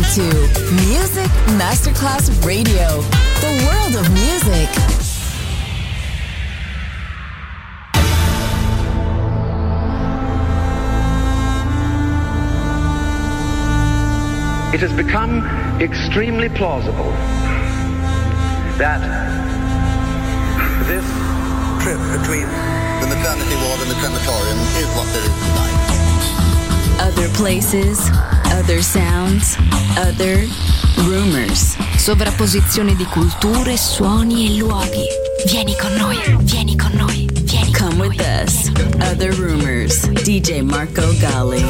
to Music Masterclass Radio, the world of music. It has become extremely plausible that this trip between the maternity ward and the crematorium is what there is tonight. Other places, other sounds, other rumors. Sovrapposizione di culture, suoni e luoghi. Vieni con noi, vieni con noi, vieni con Come noi. with us. Other rumors. DJ Marco Gally.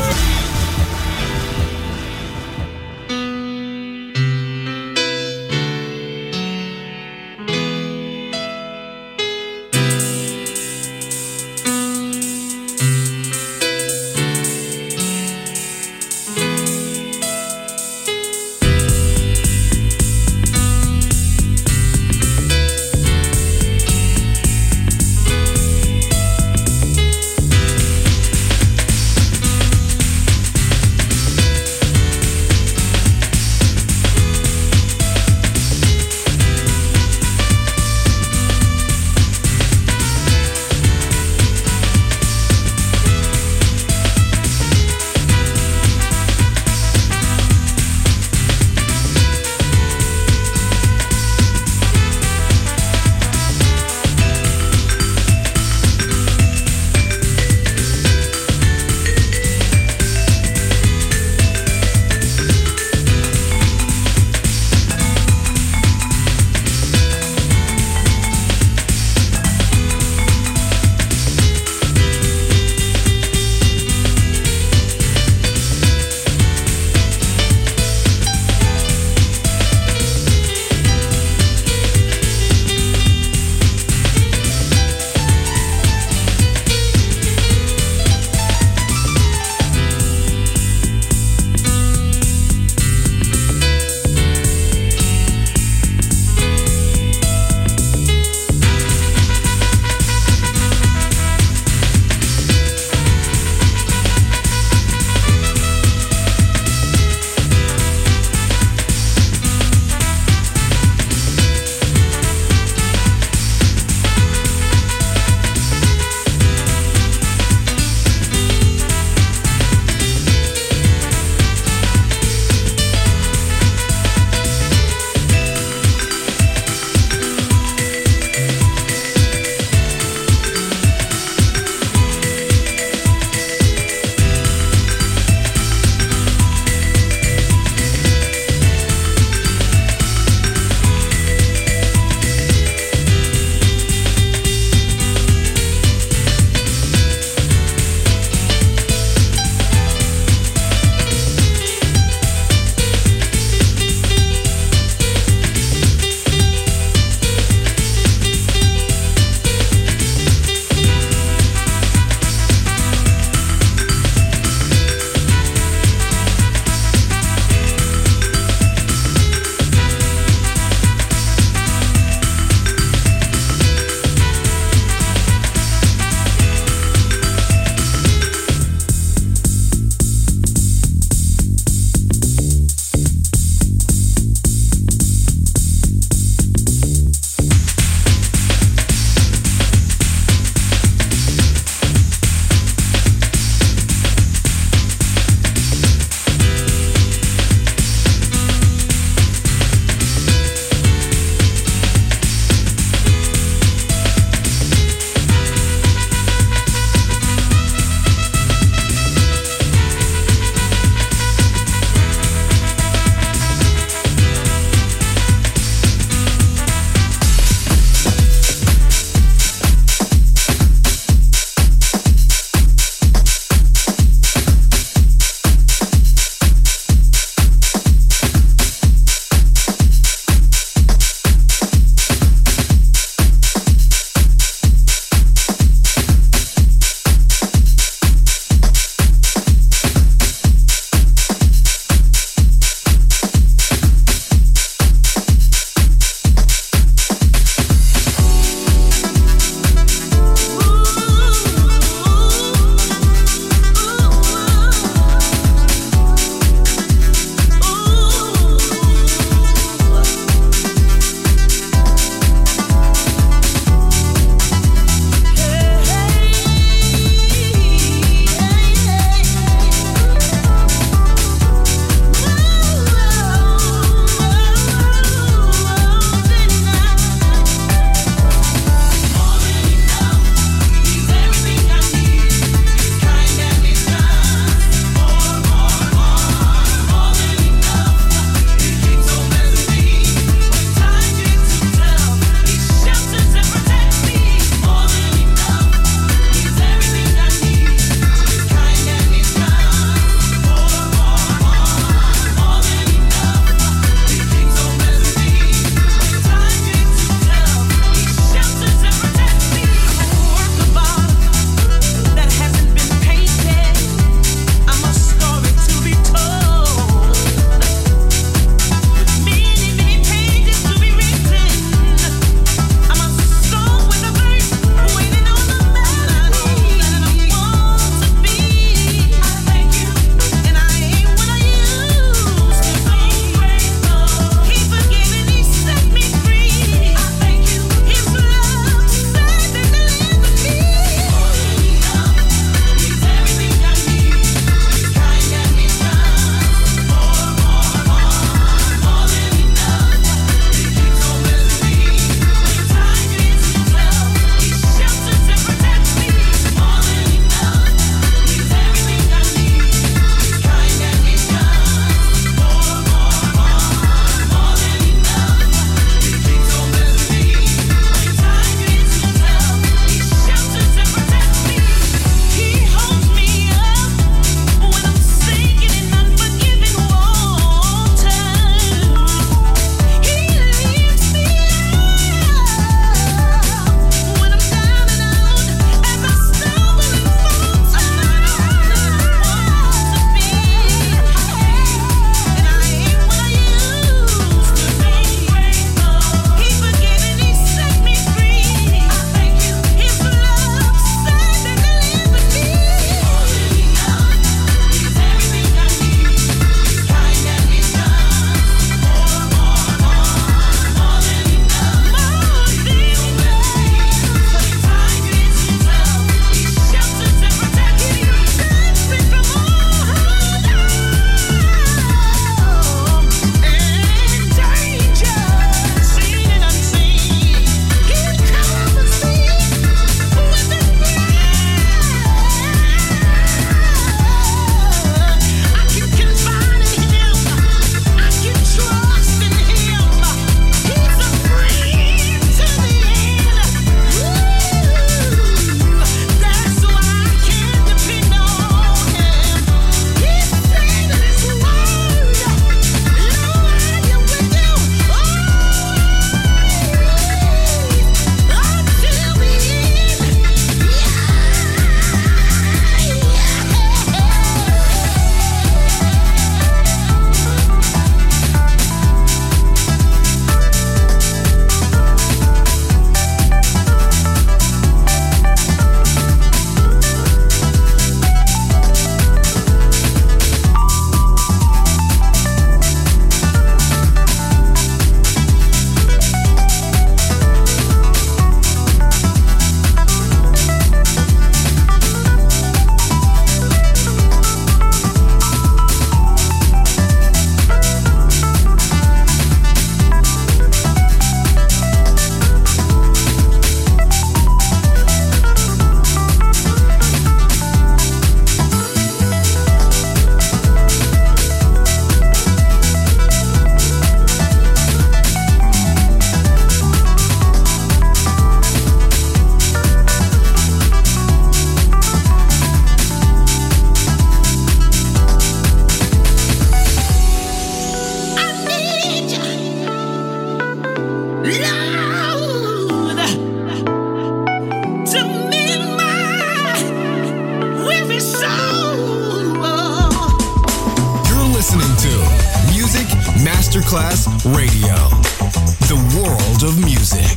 Masterclass Radio, the world of music.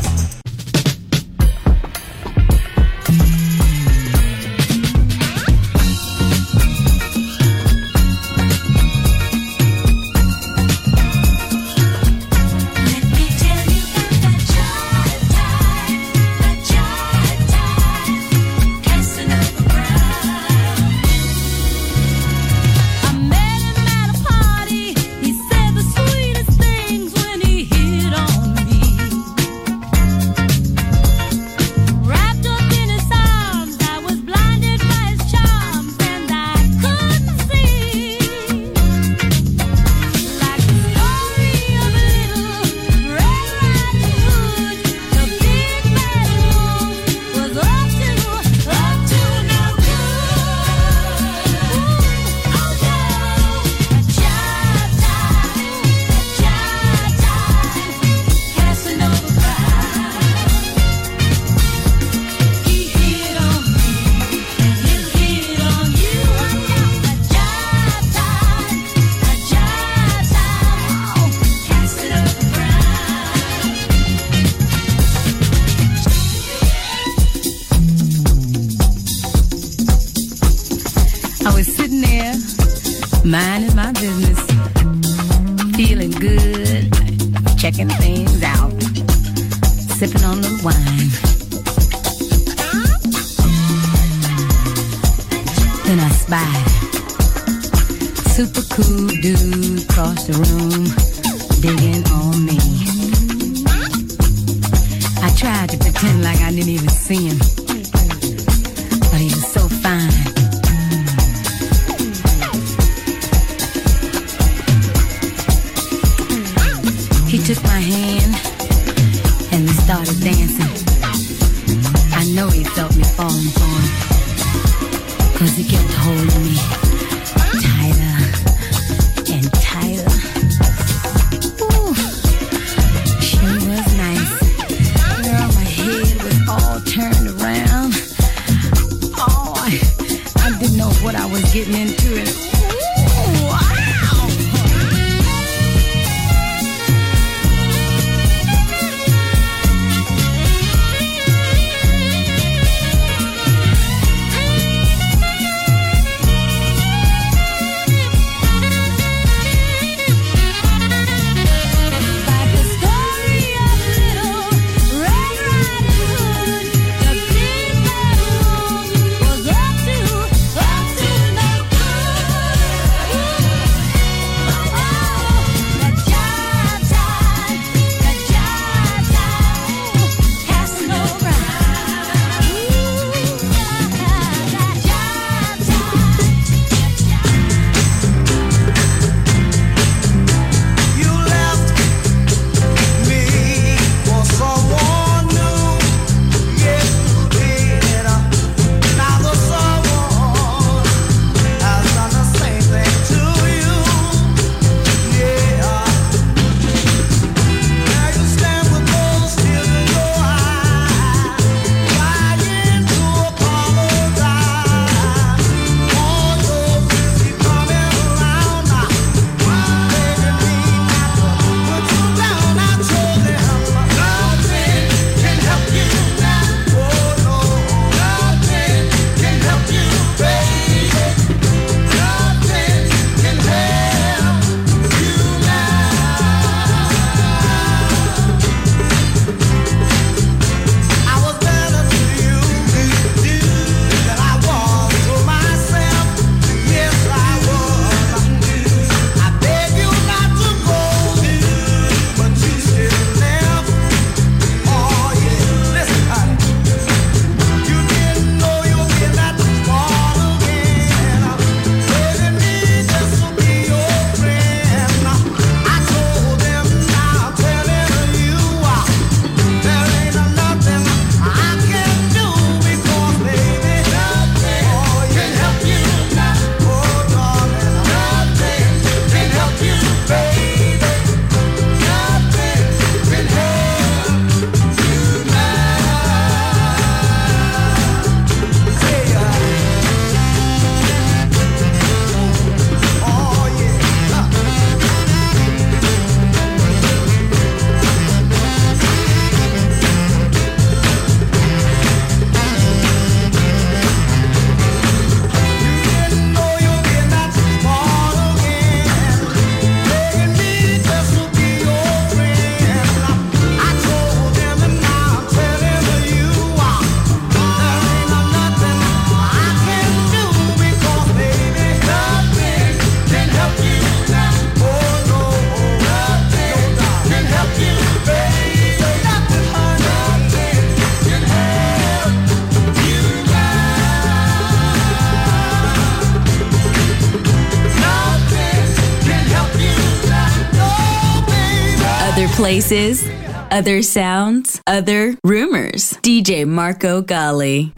Minding my business, feeling good, checking things out, sipping on the wine. Then I spied super cool dude across the room, digging on me. I tried to pretend like I didn't even see him, but he was so fine. He took my hand and we started dancing. I know he felt me falling for him, 'cause he kept holding me tighter and tighter. Ooh, she was nice. Girl, my head was all turned around. Oh, I didn't know what I was getting into. Ooh, wow. places, other sounds, other rumors. DJ Marco Gally.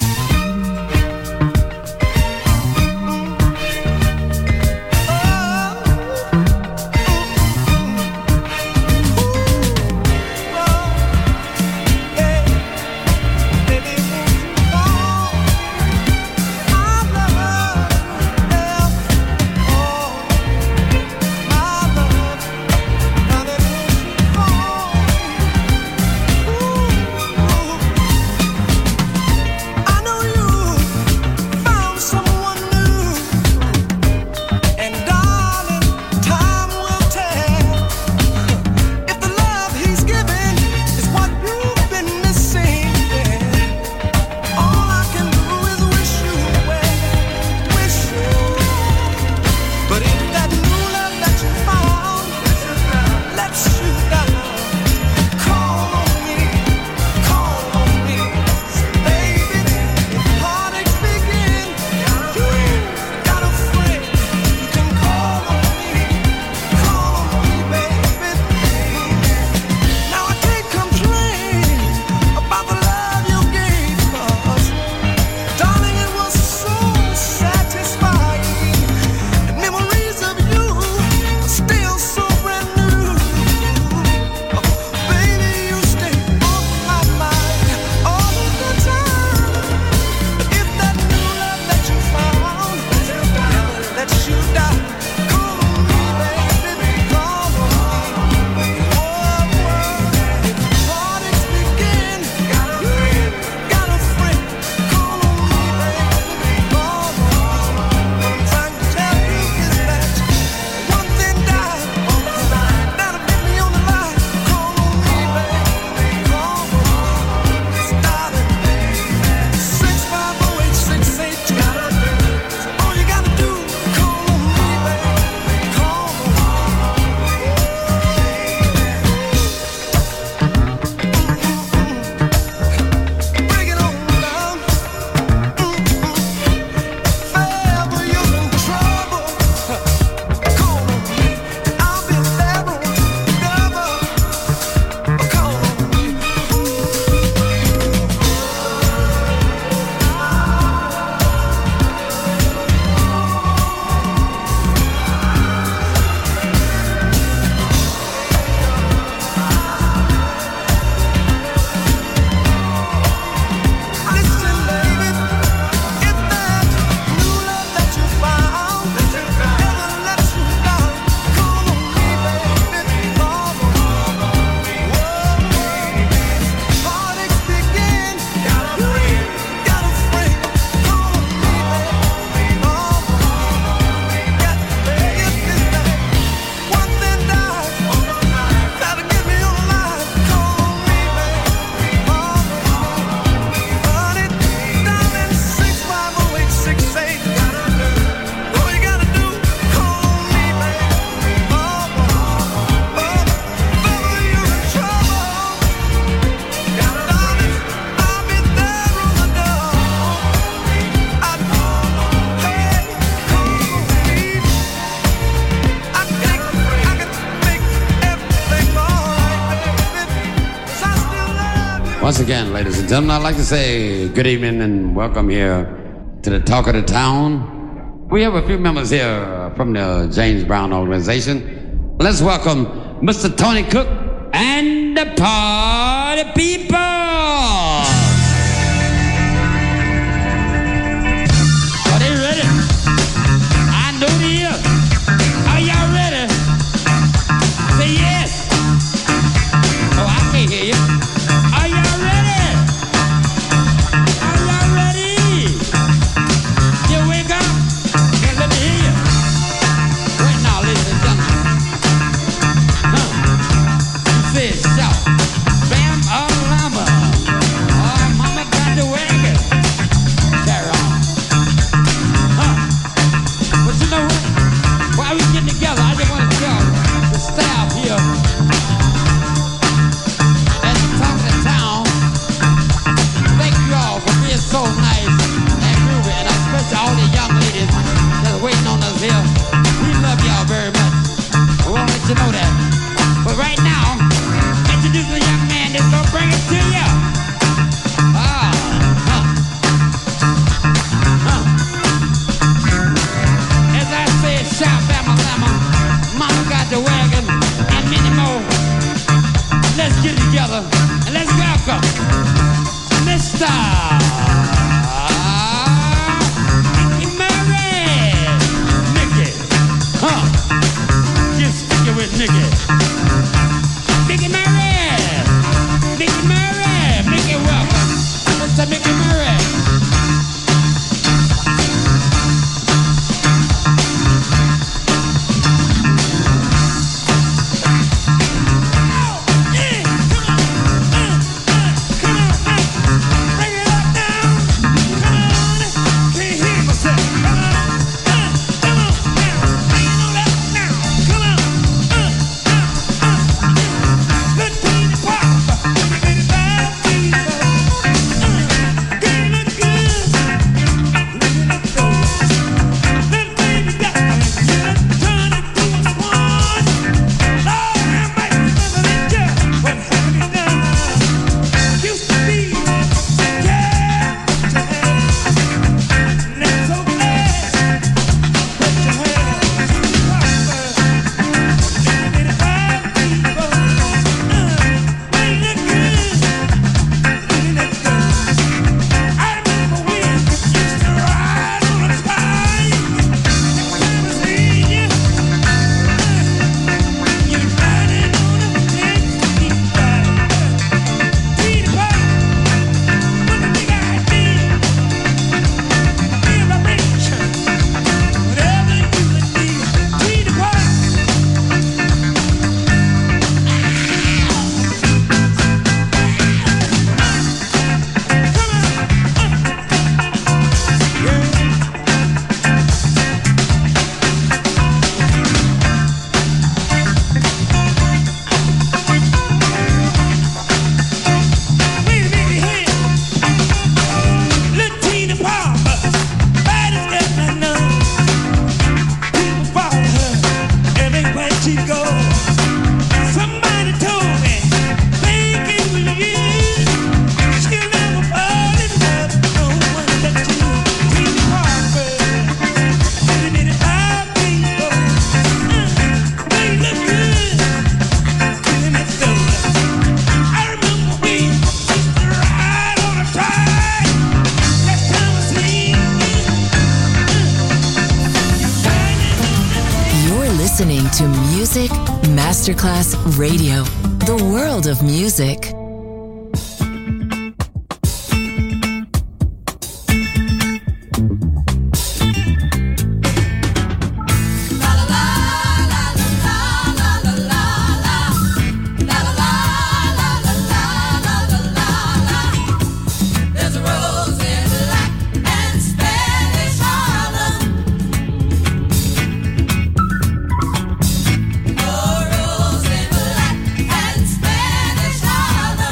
Once again, ladies and gentlemen, I'd like to say good evening and welcome here to the Talk of the Town. We have a few members here from the James Brown organization. Let's welcome Mr. Tony Cook and the Party People. Are they ready? I know they are. Are y'all ready? Say yes. Oh, I can't hear you. Are y'all ready? Are y'all ready? You wake up and let me hear you. Right now, ladies and gentlemen. You said shout. Bam, llama. Mickey. Mickey Murray. Mickey Murray. Mickey, welcome. Mr. Mickey Murray. Listening to Music Masterclass Radio, the world of music. Rose in black and Spanish Harlem.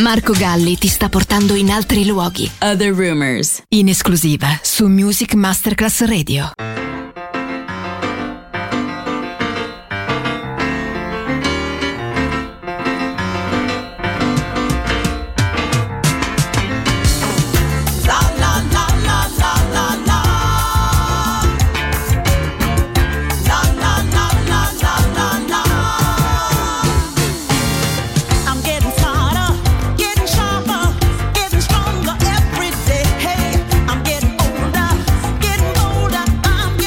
Marco Galli ti sta portando in altri luoghi. Other Rumors, In esclusiva su Music Masterclass Radio. Stronger every day. Hey, I'm getting older, getting bolder. I'm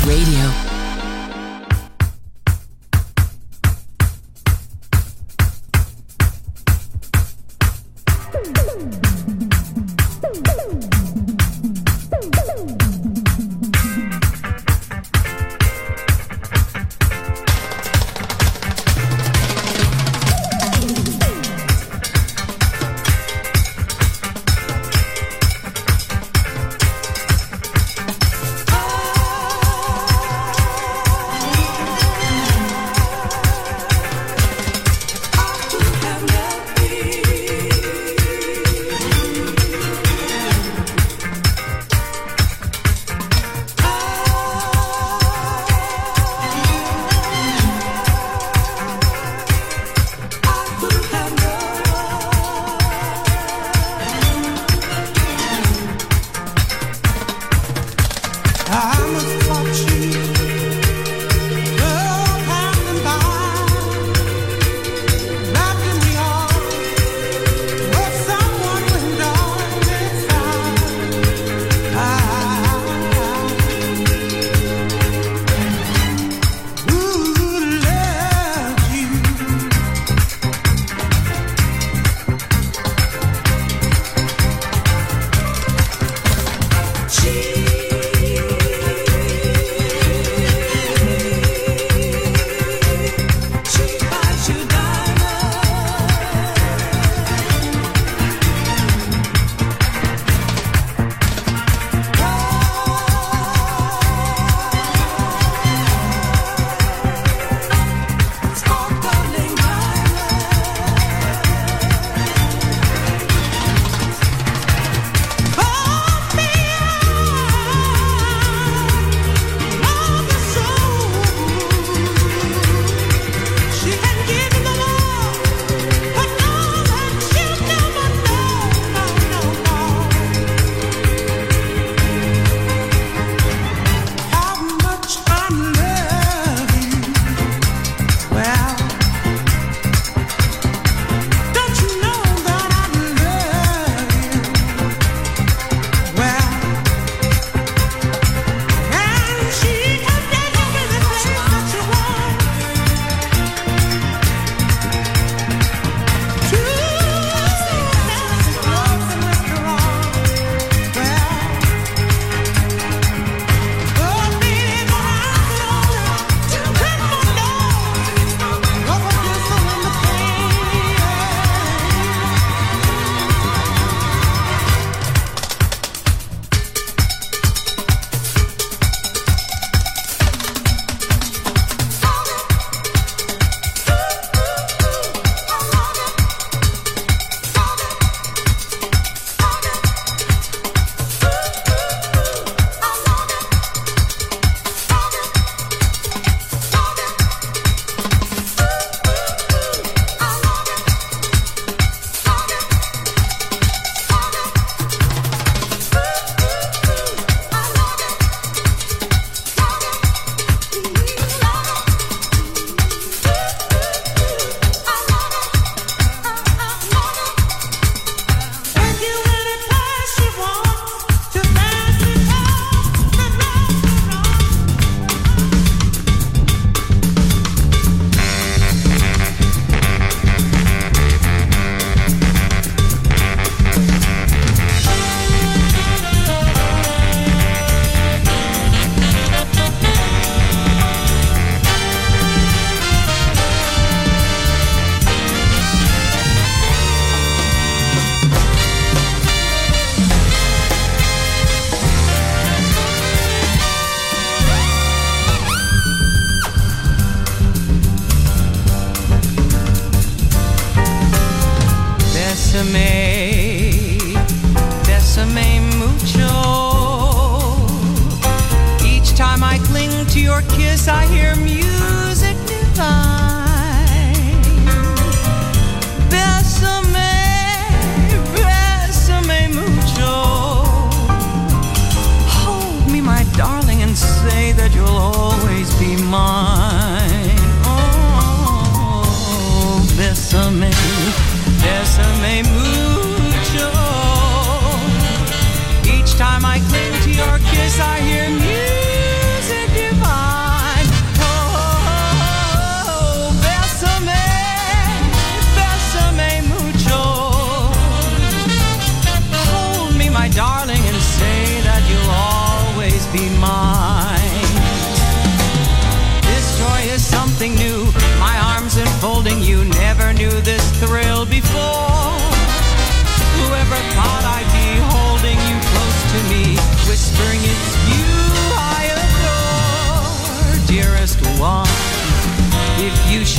Radio.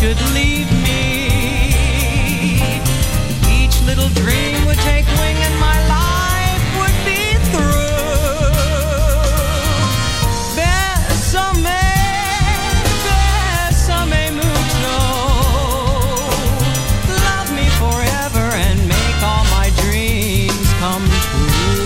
should leave me. Each little dream would take wing and my life would be through. Bésame mucho. Love me forever and make all my dreams come true.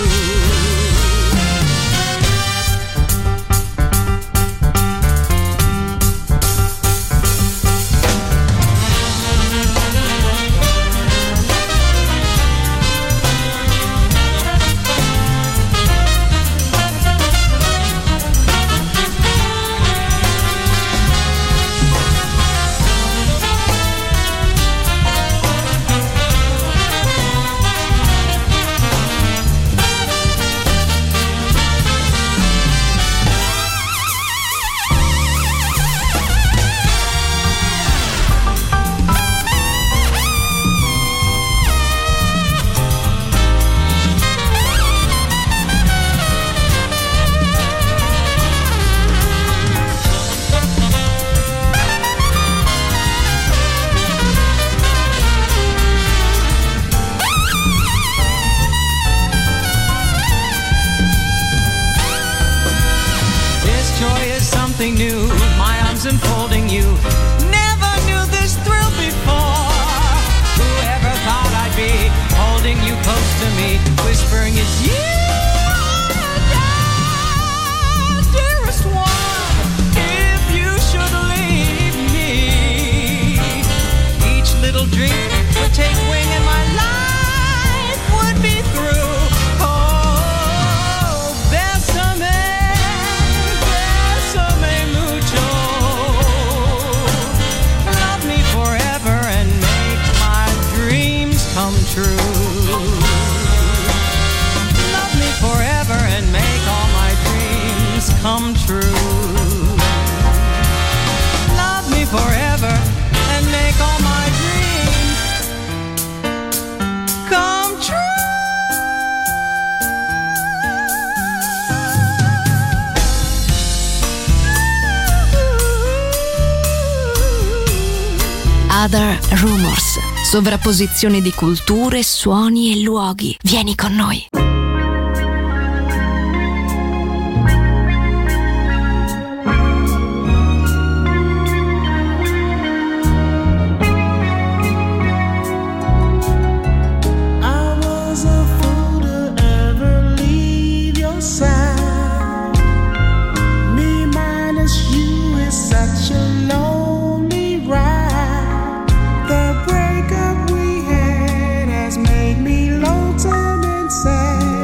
Something new, my arms enfolding you. Never knew this thrill before. Whoever thought I'd be holding you close to me, whispering it's you, dearest one. If you should leave me, each little dream would take wing and my life would be through. Oh, bésame. Come true. Love me forever and make all my dreams come true. Love me forever and make all my dreams come true. Other Rumors. Sovrapposizione di culture, suoni e luoghi. Vieni con noi. The breakup we had has made me lonesome and sad.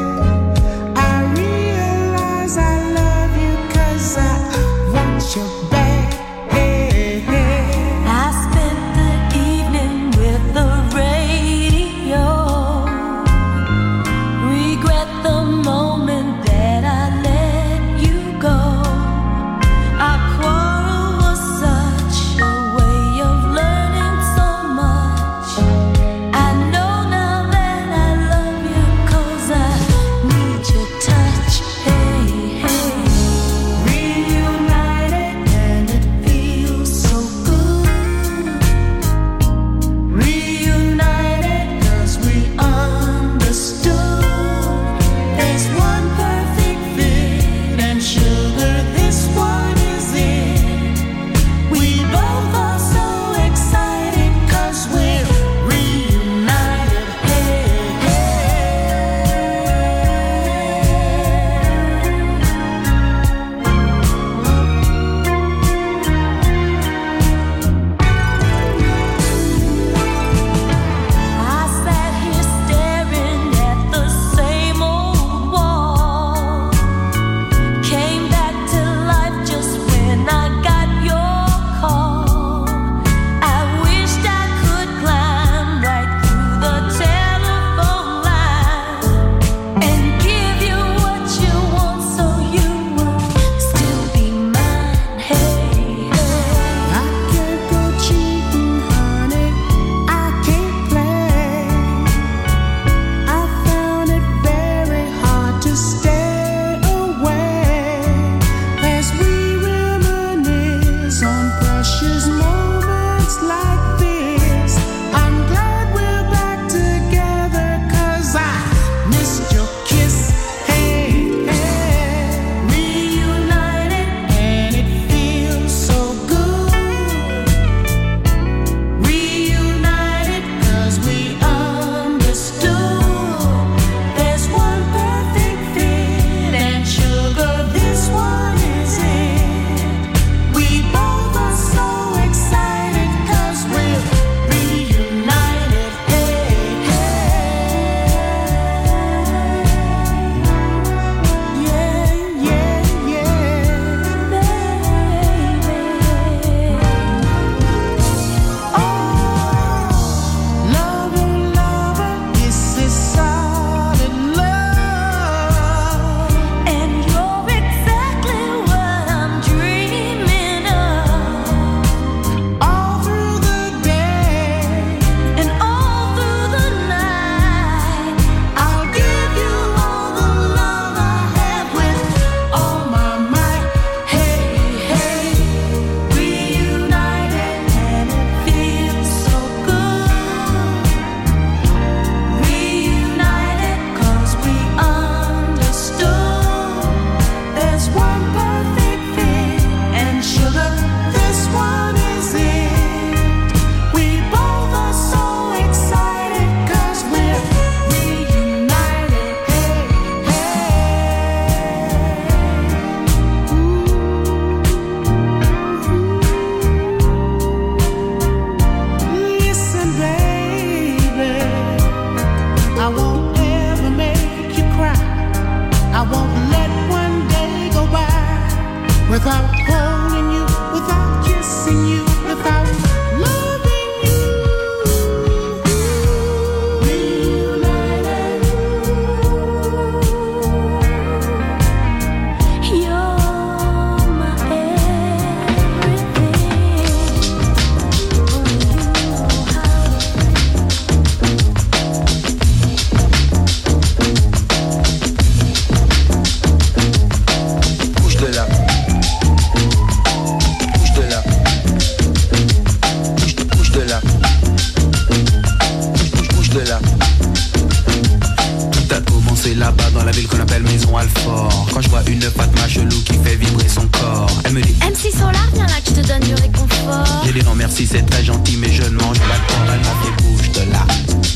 merci, c'est très gentil, mais je ne mange pas de porc. Elle m'a fait bouge de là.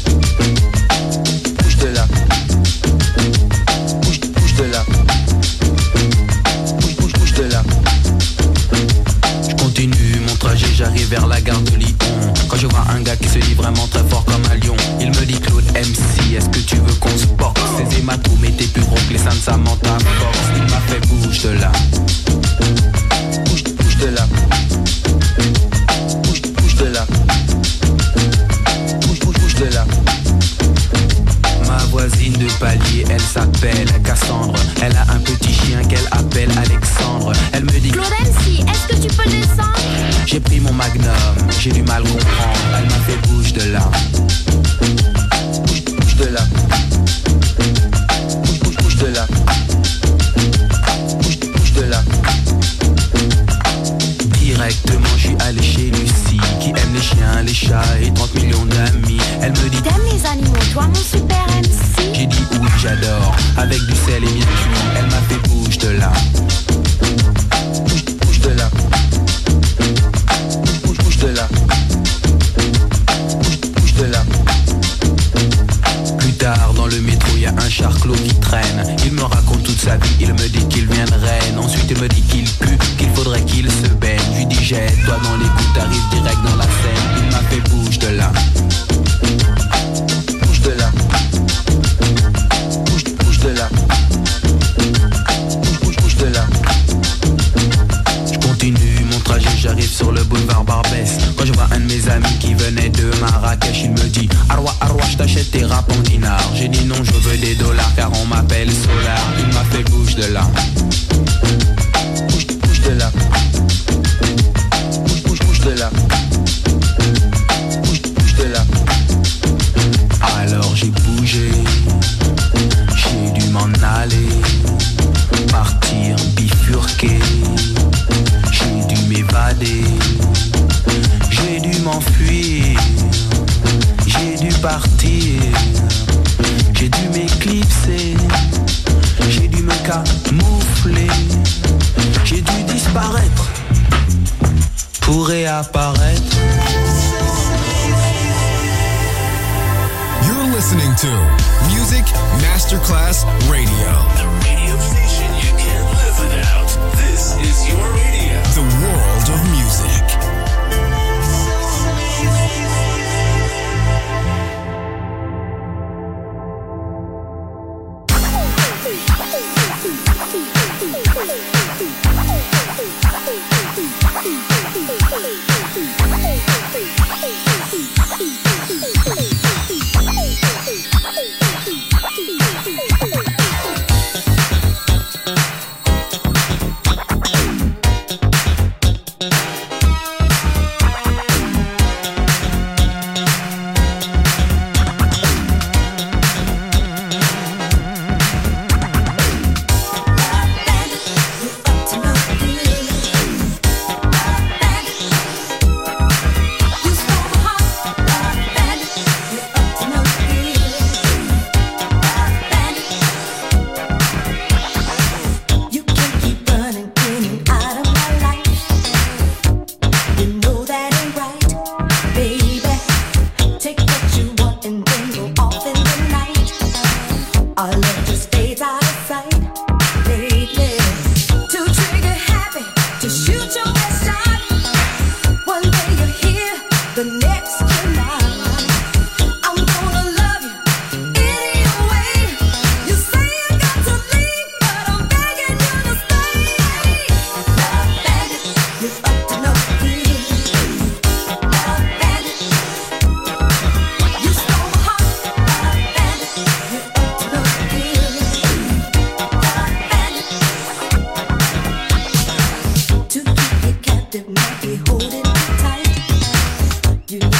Bouge de là. Bouge de là. Bouge de là. Je continue mon trajet, j'arrive vers la gare de Lyon. Quand je vois un gars qui se dit vraiment très fort comme un lion, il me dit Claude MC, est-ce que tu veux qu'on se boxe? Ses hématomes étaient plus gros que les seins de Samantha Fox. Il m'a fait bouge de là. Bouge de là. Bouge de là. Bouge de là. Ma voisine de palier, elle s'appelle Cassandre. Elle a un petit chien qu'elle appelle Alexandre. Elle me dit Claude MC, est-ce que tu peux descendre? J'ai pris mon magnum, j'ai du mal comprendre. Elle m'a fait bouge de là. Bouge de là. Bouge de là. Bouge de là. Directement je suis allé chez Lucie, qui aime les chiens, les chats et 30 millions d'amis. Elle me dit t'aimes les animaux, toi mon super MC? J'ai dit oui j'adore, avec du sel et bien cuit. Elle m'a fait bouge de là. Bouge de là. Bouge de là. Bouge de là. Plus tard dans le métro y a un charclot qui traîne. Il me raconte toute sa vie, il me dit qu'il vient de Rennes. Ensuite il me dit qu'il pue, qu'il faudrait qu'il se baigne. Je lui dis jette-toi dans l'écoute, t'arrives direct dans la scène. Il m'a fait bouge de là. Bouge de là. Bouge de là. Bouge de là. Je continue mon trajet, j'arrive sur le boulevard Barbès. Quand je vois un de mes amis qui venait de Marrakech, il me dit Arwa, je t'achète tes rap en dinars. J'ai dit non, je veux des dollars car on m'appelle Solar. Il m'a fait bouge de là. Bouge de là. Bouge de là. Bouge de là. Alors j'ai bougé, j'ai dû m'en aller, partir, bifurquer. J'ai dû m'évader, j'ai dû m'enfuir, j'ai dû partir, j'ai dû m'éclipser, j'ai dû me camoufler, j'ai dû disparaître pour réapparaître. You're listening to Music Masterclass Radio. The radio station you can't live without. This is your radio. The world of music. You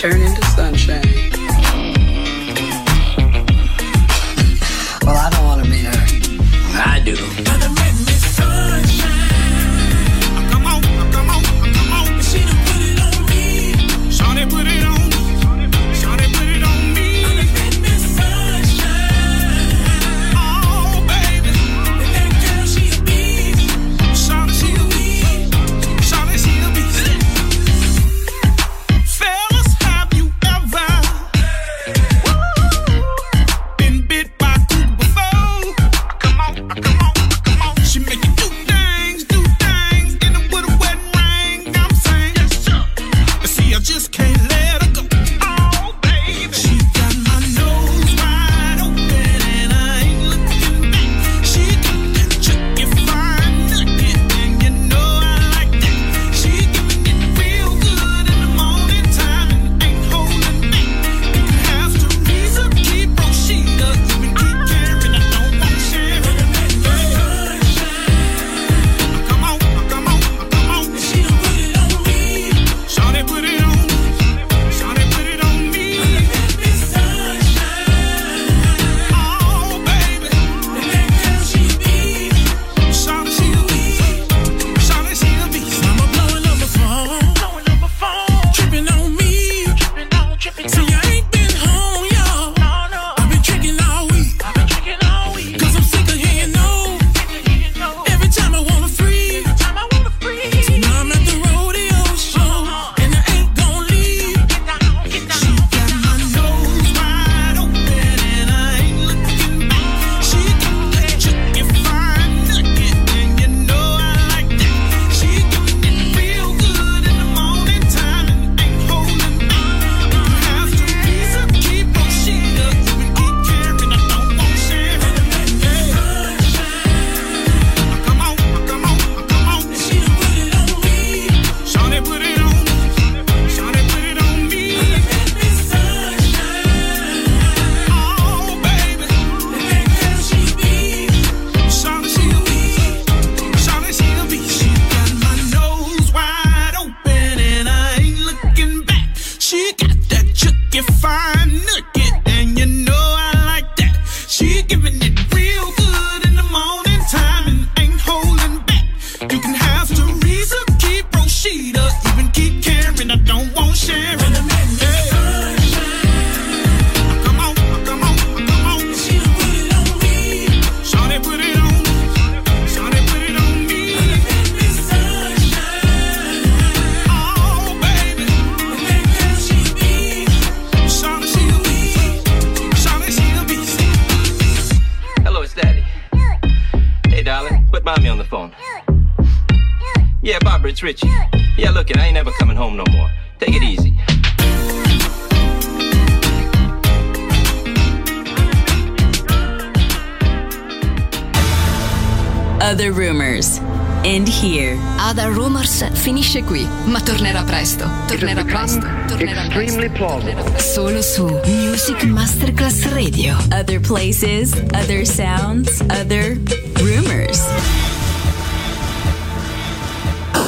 turn into sunshine. Well, I don't want to meet her. I do. Richie. Yeah, look it, I ain't never coming home no more. Take it easy. Other Rumors. End here. Other Rumors finisce qui, ma tornerà presto. Tornerà presto. Extremely plausible. Solo su Music Masterclass Radio. Other places, other sounds, other rumors.